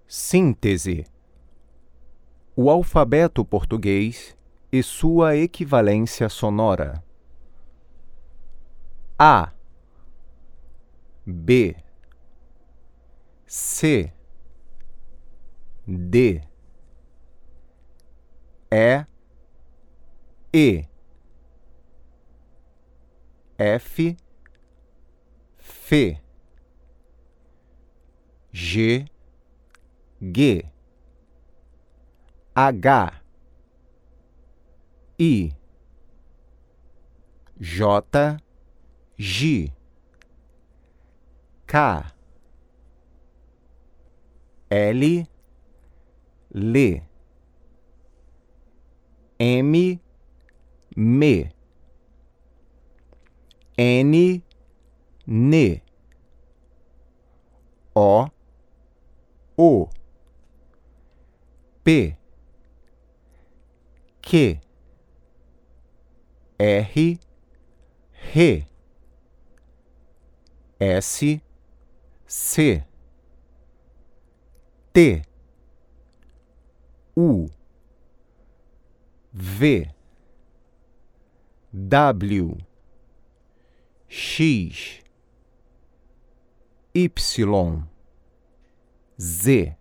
Síntese: o alfabeto português e sua equivalência sonora. A, B, C, D, E, F, F, G, G, H, I, J, J, K, L, L, M, M, N, N, O, P, Q, R, R, S, C, T, U, V, W, X, Y, Z.